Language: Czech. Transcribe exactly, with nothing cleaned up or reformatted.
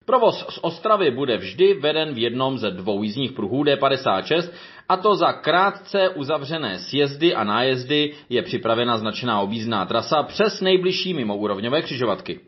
Provoz z Ostravy bude vždy veden v jednom ze dvou jízdních pruhů D padesát šest, a to za krátce uzavřené sjezdy a nájezdy je připravena značená objízdná trasa přes nejbližší mimoúrovňové křižovatky.